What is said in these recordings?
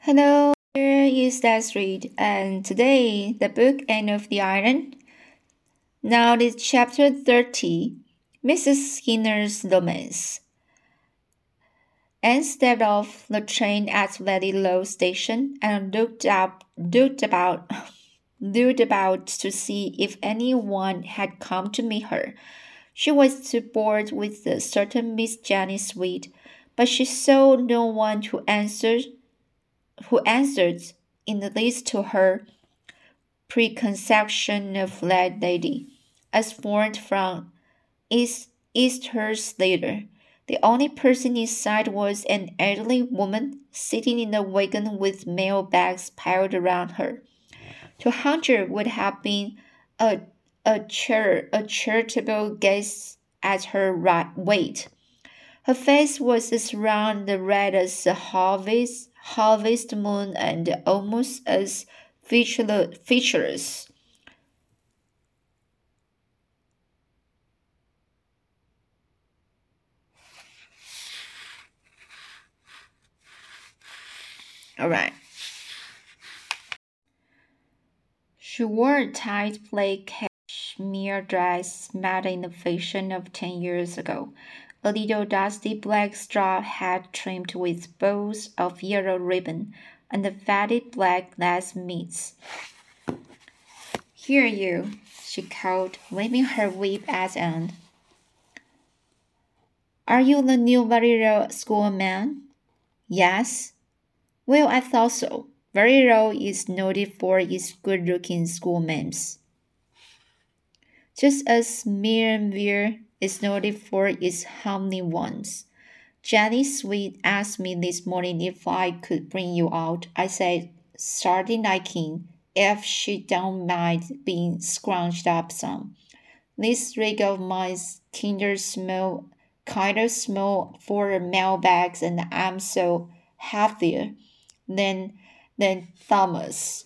Hello, here is Desiree, and today the book End of the Island. Now it's chapter 30, Mrs. Skinner's Romance. Anne stepped off the train at Low Station and looked about to see if anyone had come to meet her. She was too bored with a certain Miss Jenny Sweet, but she saw no one who answered in the least to her preconception of that lady, as formed from Easter's later. The only person in sight was an elderly woman sitting in a wagon with mail bags piled around her. To Hunter would have been a, a charitable guess at her weight. Her face was as round and red as a harvest moon and almost as featureless. All right. She wore a tight black cashmere dress made in the fashion of 10 years ago, a little dusty black straw hat trimmed with bows of yellow ribbon, and the faded black lace mitts. Here you, she called, waving her whip at Anne. Are you the new Variro schoolman? Yes. Well, I thought so. Variro is noted for its good-looking schoolmames, just as Mirenville is noted for its homely ones. Jenny Sweet asked me this morning if I could bring you out. I said, starting liking, if she don't mind being scrunched up some. This rig of mine's kind of small for mailbags, and I'm so heavier than Thomas.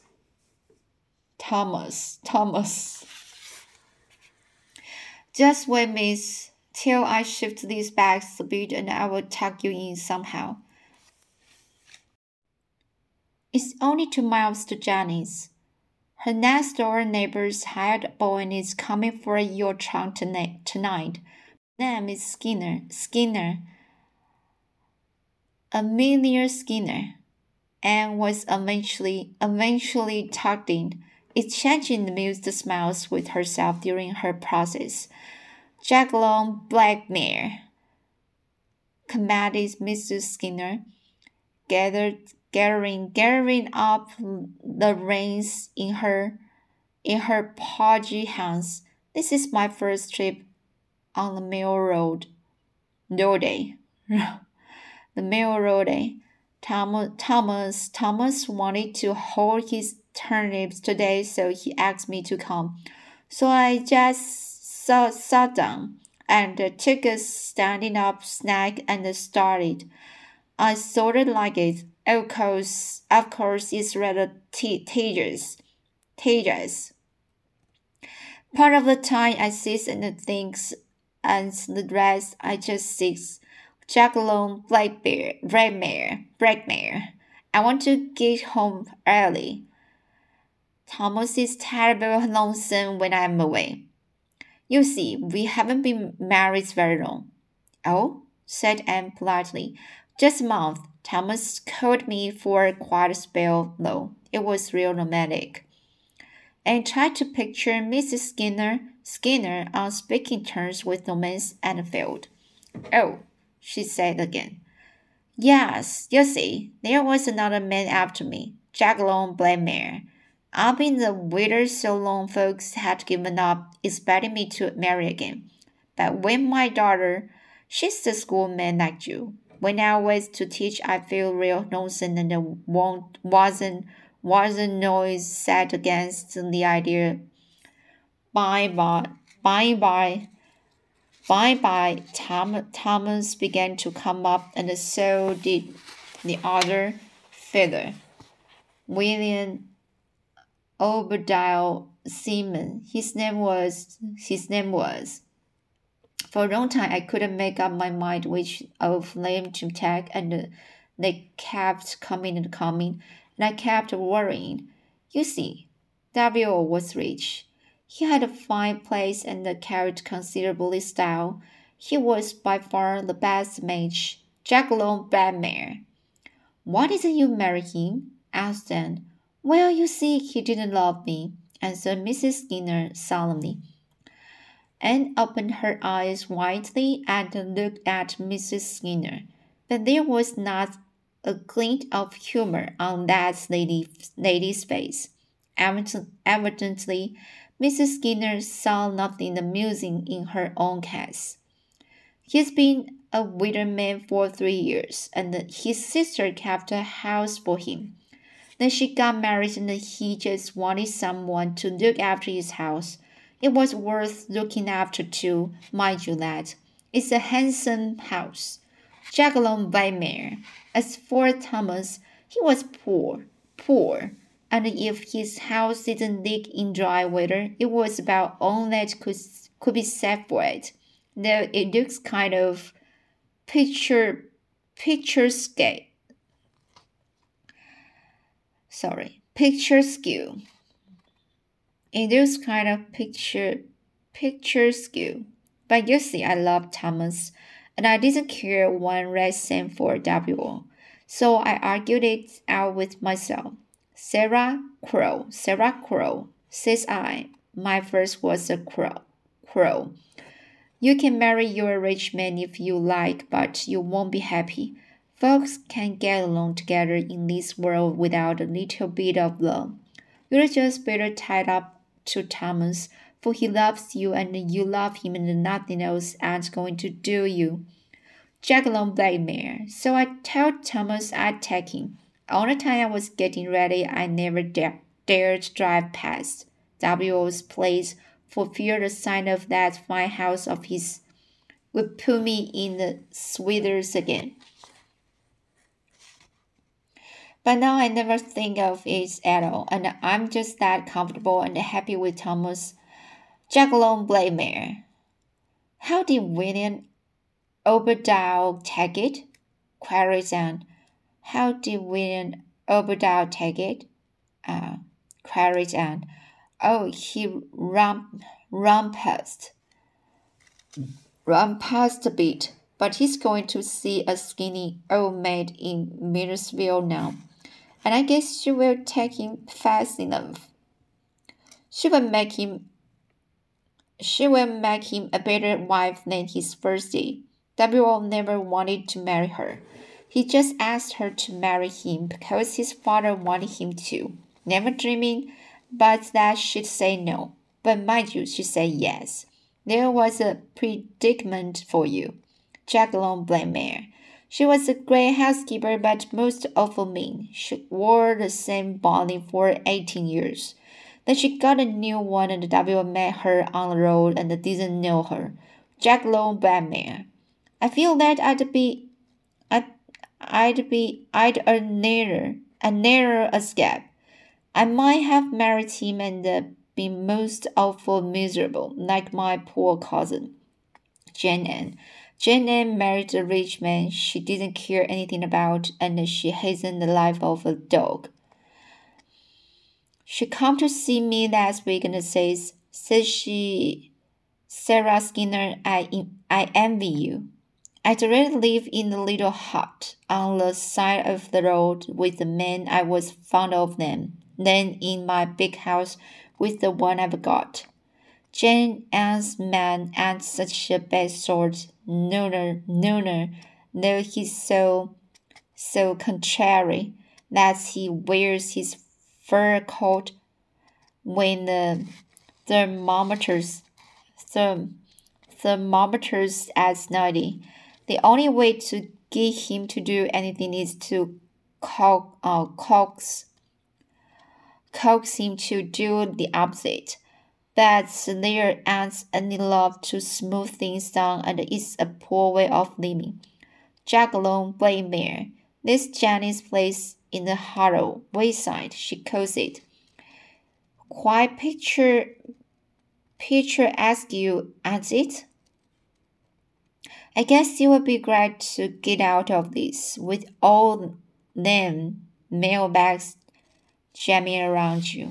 Thomas. Just wait, miss, till I shift these bags a bit and I will tuck you in somehow. It's only 2 miles to Jenny's. Her next door neighbor's hired boy is coming for your trunk tonight. Name is Skinner. Amelia Skinner. Anne was eventually tucked in, exchanging amused smiles with herself during her process. Jacqueline Blackmare, commented Mrs. Skinner, gathering up the reins in her podgy hands. This is my first trip on the mail road. The mail road. Thomas wanted to hold his turnips today, so he asked me to come. So I just sat down and took a standing up snack and started. I sort of like it. Of course, it's rather tedious. Part of the time I sit and think, and the rest I just sit. Jacqueline Blackmare. I want to get home early. Thomas is terribly lonesome when I'm away. You see, we haven't been married very long. Oh, said Anne politely. Just a month. Thomas called me for quite a spell, though. It was real romantic. And tried to picture Mrs. Skinner on speaking terms with romance and failed. Oh, she said again. Yes, you see, there was another man after me, Jacqueline Blackmare. I've been the widow so long folks had given up expecting me to marry again. But when my daughter, she's the schoolman like you, when I was to teach I feel real nonsense and wasn't noise set against the idea. By by, Thomas began to come up, and so did the other feather, William Obadiah Seaman. His name was. For a long time, I couldn't make up my mind which of them to take, and They kept coming and coming, and I kept worrying. You see, W was rich. He had a fine place and carried considerable style. He was by far the best match. Jack Long Bradmere. Why didn't you marry him? Asked Anne. Well, you see, he didn't love me, answered Mrs. Skinner solemnly. Anne opened her eyes widely and looked at Mrs. Skinner, but there was not a glint of humor on that lady's face. Evidently, Mrs. Skinner saw nothing amusing in her own case. He's been a widowed man for 3 years, and his sister kept a house for him. Then she got married and he just wanted someone to look after his house. It was worth looking after too, mind you that. It's a handsome house. Jacqueline Weimar. As for Thomas, he was poor. And if his house didn't leak in dry weather, it was about all that could be said for it. Though it looks kind of picturesque. Picturesque. It looks kind of picturesque. But you see, I love Thomas, and I didn't care one red cent for W. So I argued it out with myself. Sarah Crow, says I. My first was a crow. You can marry your rich man if you like, but you won't be happy. Folks can't get along together in this world without a little bit of love. You're just better tied up to Thomas, for he loves you and you love him and nothing else ain't going to do you. Jacqueline Blackmare. So I told Thomas I'd take him. All the time I was getting ready, I never dared drive past W.'s place for fear the sight of that fine house of his would put me in the swithers again. But now I never think of it at all, and I'm just that comfortable and happy with Thomas. Jacqueline Blackmare. How did William Obadiah take it? Queried Anne. How did William Obadiah take it? Queried Anne. Oh, he run past a bit, but he's going to see a skinny old maid in Millersville now, and I guess she will take him fast enough. She will make him a better wife than his first day. W. never wanted to marry her. He just asked her to marry him because his father wanted him to, never dreaming but that she'd say no. But mind you, she said yes. There was a predicament for you. Jacqueline Blackmare. She was a great housekeeper, but most awful mean. She wore the same bonnet for 18 years. Then she got a new one and W met her on the road and didn't know her. Jacqueline Blackmare. I feel that I'd a narrow escape. I might have married him and been most awful miserable, like my poor cousin, Jane Ann. Jane Ann married a rich man she didn't care anything about, and she hastened the life of a dog. She come to see me last week and says she, Sarah Skinner, I envy you. I'd rather live in a little hut on the side of the road with the man I was fond of than in my big house with the one I've got. Jane Ann's man ain't such a bad sort, nooner, though he's so contrary that he wears his fur coat when the thermometers at 90. The only way to get him to do anything is to coax him to do the opposite. But there ain't any love to smooth things down, and it's a poor way of living. Jacqueline Blackmare. This Jenny's place in the Harrow wayside, she calls it. Quite picturesque, ain't it? I guess you would be glad to get out of this with all them mailbags jamming around you.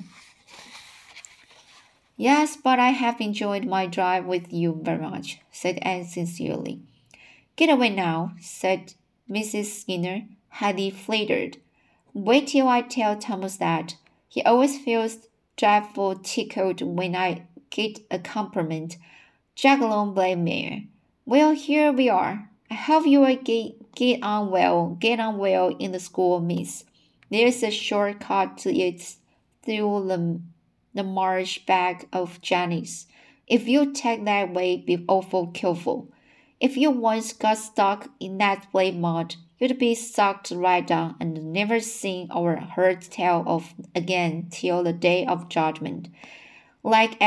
Yes, but I have enjoyed my drive with you very much, said Anne sincerely. Get away now, said Mrs. Skinner, highly flattered. Wait till I tell Thomas that. He always feels dreadful tickled when I get a compliment. Jaggalong Blamere. Well, here we are. I hope you will get on well. Get on well in the school, miss. There's a short cut to it through the marsh back of Janice. If you take that way, be awful careful. If you once got stuck in that black mud, you'd be sucked right down and never seen or heard tell of again till the day of judgment. Like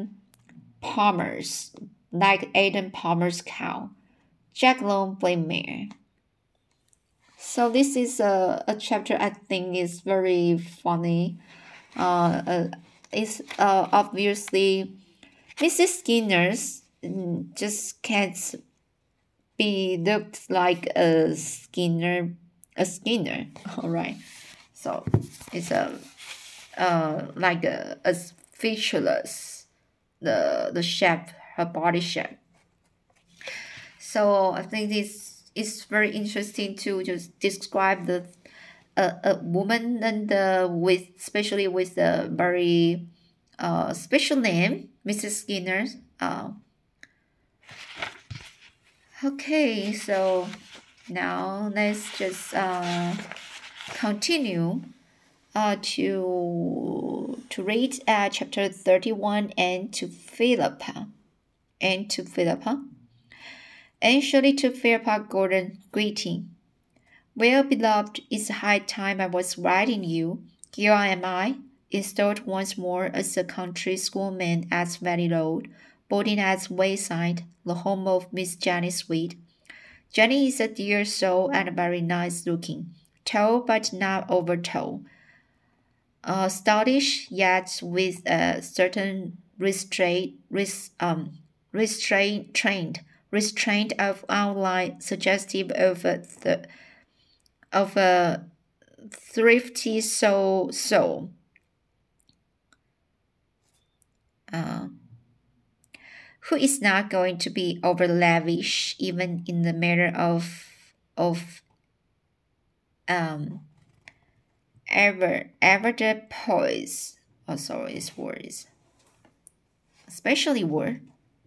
Adam Palmer's cow. Jack Lone Blamere. So this is a chapter I think is very funny. It's obviously Mrs. Skinner's just can't be looked like a Skinner. All right. So it's like a featureless the shape, her body shape. So I think this is very interesting to just describe the a woman and with especially with a very special name, Mrs. Skinner. Okay, so now let's just continue to read chapter 31 and to Philippa. And surely to Philippa Gordon greeting. Well, beloved, it's high time I was writing you. Here am I, installed once more as a country schoolman at Valley Road, boarding at Wayside, the home of Miss Jenny Sweet. Jenny is a dear soul and very nice looking, tall but not over tall. Stoutish, yet with a certain restraint of outline suggestive of a thrifty soul. Who is not going to be over lavish even in the matter of ever the poise. Oh, sorry, it's words. Especially word.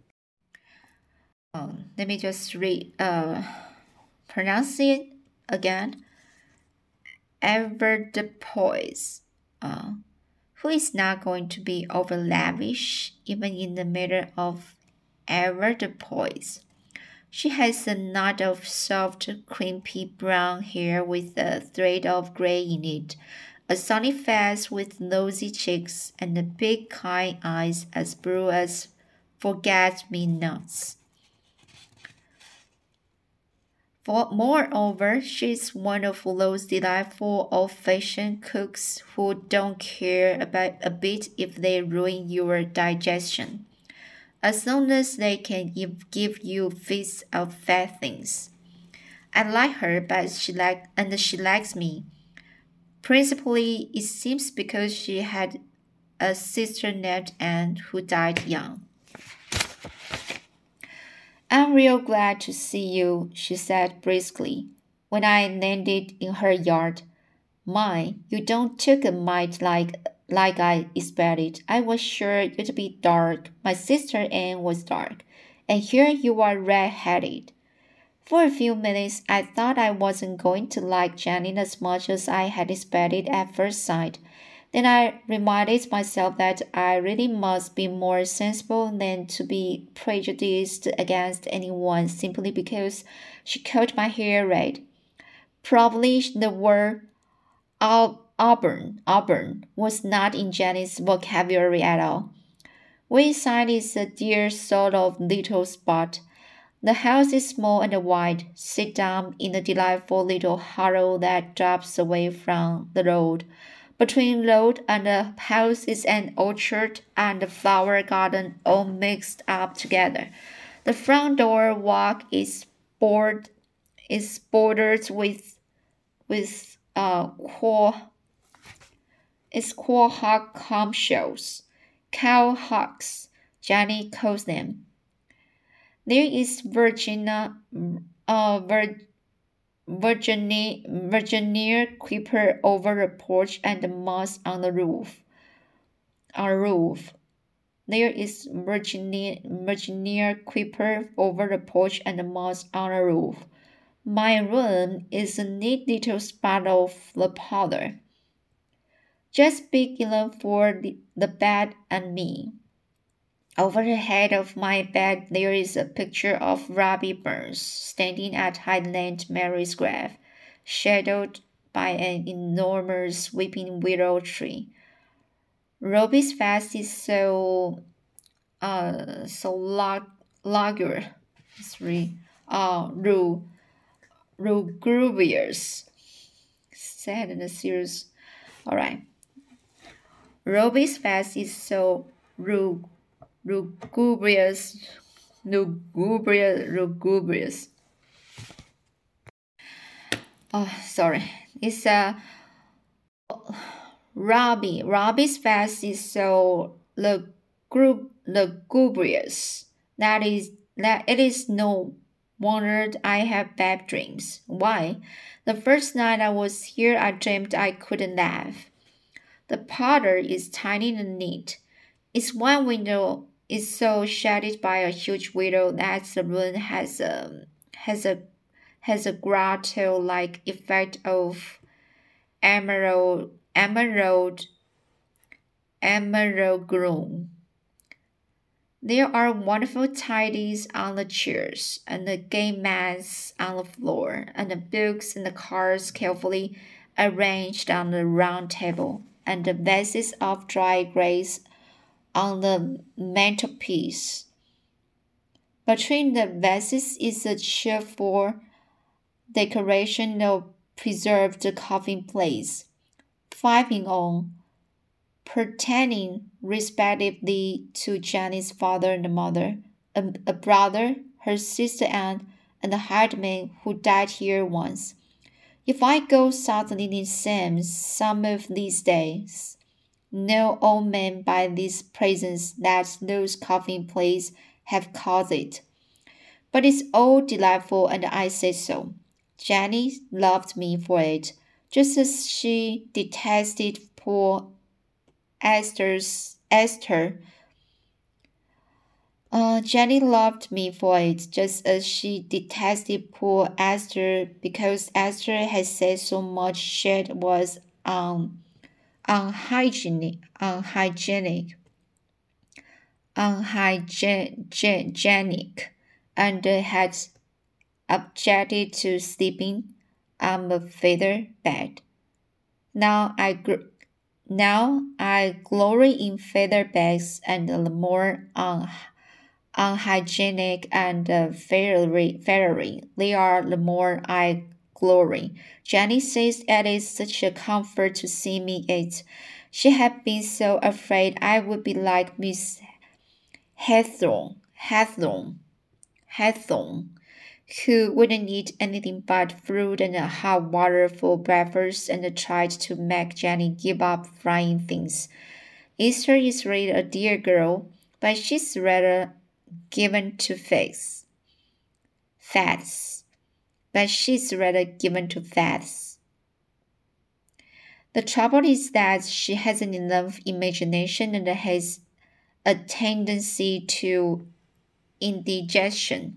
Let me just pronounce it again. Ever the poise. Who is not going to be over lavish even in the matter of ever the poise. She has a knot of soft, crimpy brown hair with a thread of gray in it, a sunny face with rosy cheeks, and big kind eyes as blue as forget-me-nots. Moreover, she's one of those delightful old-fashioned cooks who don't care about a bit if they ruin your digestion, as long as they can give you feasts of fat things. I like her, but she likes me. Principally, it seems because she had a sister named Anne who died young. I'm real glad to see you, she said briskly, when I landed in her yard. My, you don't took a mite like I expected. I was sure you'd be dark. My sister Anne was dark, and here you are red-headed. For a few minutes, I thought I wasn't going to like Jenny as much as I had expected at first sight. Then I reminded myself that I really must be more sensible than to be prejudiced against anyone simply because she cut my hair red. Probably the word auburn was not in Jenny's vocabulary at all. Wayside is a dear sort of little spot. The house is small and wide, sit down in a delightful little hollow that drops away from the road. Between road and the house is an orchard and a flower garden all mixed up together. The front door walk is is bordered with quahog shells, cow hawks, Johnny calls them. There is Virginia creeper over the porch and moss on the roof. There is Virginia creeper over the porch and moss on the roof. My room is a neat little spot of the parlor, just big enough for the bed and me. Over the head of my bed there is a picture of Robbie Burns standing at Highland Mary's grave, shadowed by an enormous weeping willow tree. Robbie's face is so lugubrious, lugubrious, sad and serious. All right. Robbie's face is so lugubrious. Oh, sorry. It's Robbie's face is so lugubrious that it is no wonder I have bad dreams. Why? The first night I was here, I dreamed I couldn't laugh. The parlor is tiny and neat. Its one window is so shaded by a huge window that the room has a grotto-like effect of emerald gloom. There are wonderful tidies on the chairs, and the game mats on the floor, and the books and the cards carefully arranged on the round table, and the vases of dry grapes on the mantelpiece. Between the vases is a cheerful decoration of preserved coffin plates, 5 in all, pertaining respectively to Jenny's father and mother, a brother, her sister Anne, and a hired man who died here once. If I go suddenly insane some of these days, no old man by these presents that those coffin plates have caused it. But it's all delightful, and I say so. Jenny loved me for it, just as she detested poor Esther. Jenny loved me for it, just as she detested poor Esther, because Esther had said so much shit was unhygienic, and had objected to sleeping on a feather bed. Now I glory in feather beds, and the more unhygienic and fairy they are, the more I glory. Jenny says it is such a comfort to see me eat. She had been so afraid I would be like Miss Hathorn, who wouldn't eat anything but fruit and hot water for breakfast, and tried to make Jenny give up frying things. Esther is really a dear girl, but she's rather given to fads. The trouble is that she hasn't enough imagination and has a tendency to indigestion.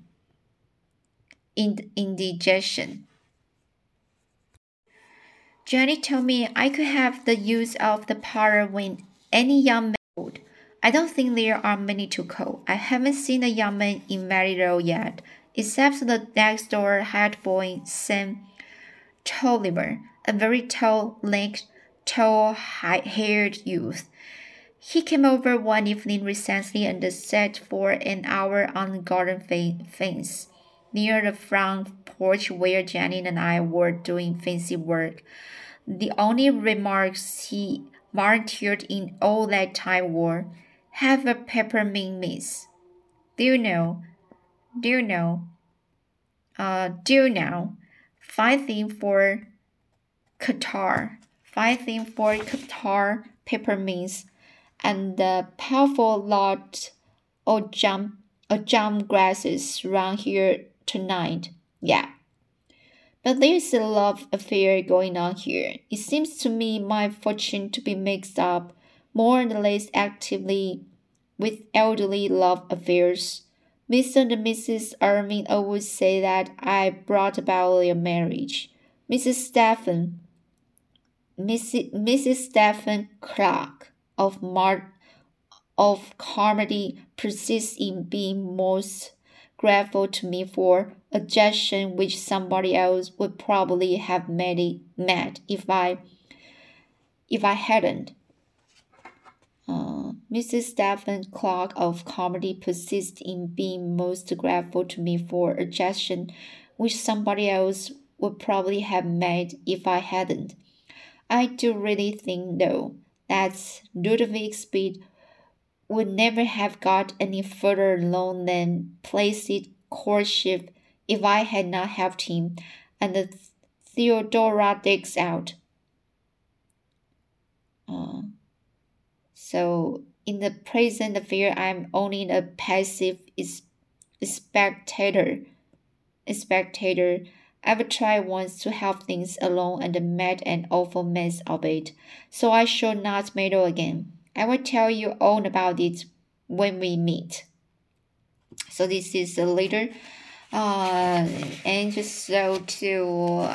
Jenny told me I could have the use of the parlor when any young man would. I don't think there are many to call. I haven't seen a young man in Maryville yet, except the next door hired boy, Sam Tolliver, a very tall, lank, tall-haired youth. He came over one evening recently and sat for an hour on the garden fence, near the front porch where Jenny and I were doing fancy work. The only remarks he volunteered in all that time were, "Have a peppermint, miss." Do you know? Do now. Fighting for Qatar. Fighting for Qatar peppermints and the powerful lot of jam grasses round here tonight. Yeah. But there's a love affair going on here. It seems to me my fortune to be mixed up more or less actively with elderly love affairs. Mr. and Mrs. Irving always say that I brought about their marriage. Mrs. Stephen Clark of Carmody persists in being most grateful to me for a gesture which somebody else would probably have met if I hadn't. Mrs. Stephen Clark of Carmody persists in being most grateful to me for a gesture which somebody else would probably have made if I hadn't. I do really think, though, that Ludovic Speed would never have got any further along than placid courtship if I had not helped him and the Theodora digs out. So in the present affair, I'm only a passive spectator. I've tried once to help things along and made an awful mess of it, so I shall not meddle again. I will tell you all about it when we meet. So this is the letter, and just so to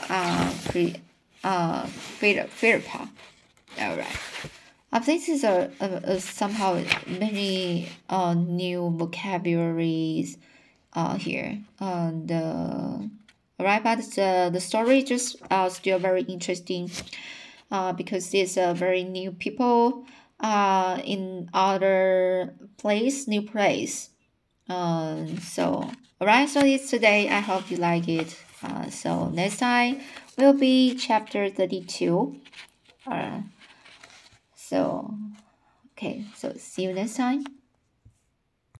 Philippa. All right. This is a somehow many new vocabularies here. Right, but the story just still very interesting because it's a very new people in other place, new place. So alright, so it's today. I hope you like it. So next time will be chapter 32. So okay, so see you next time.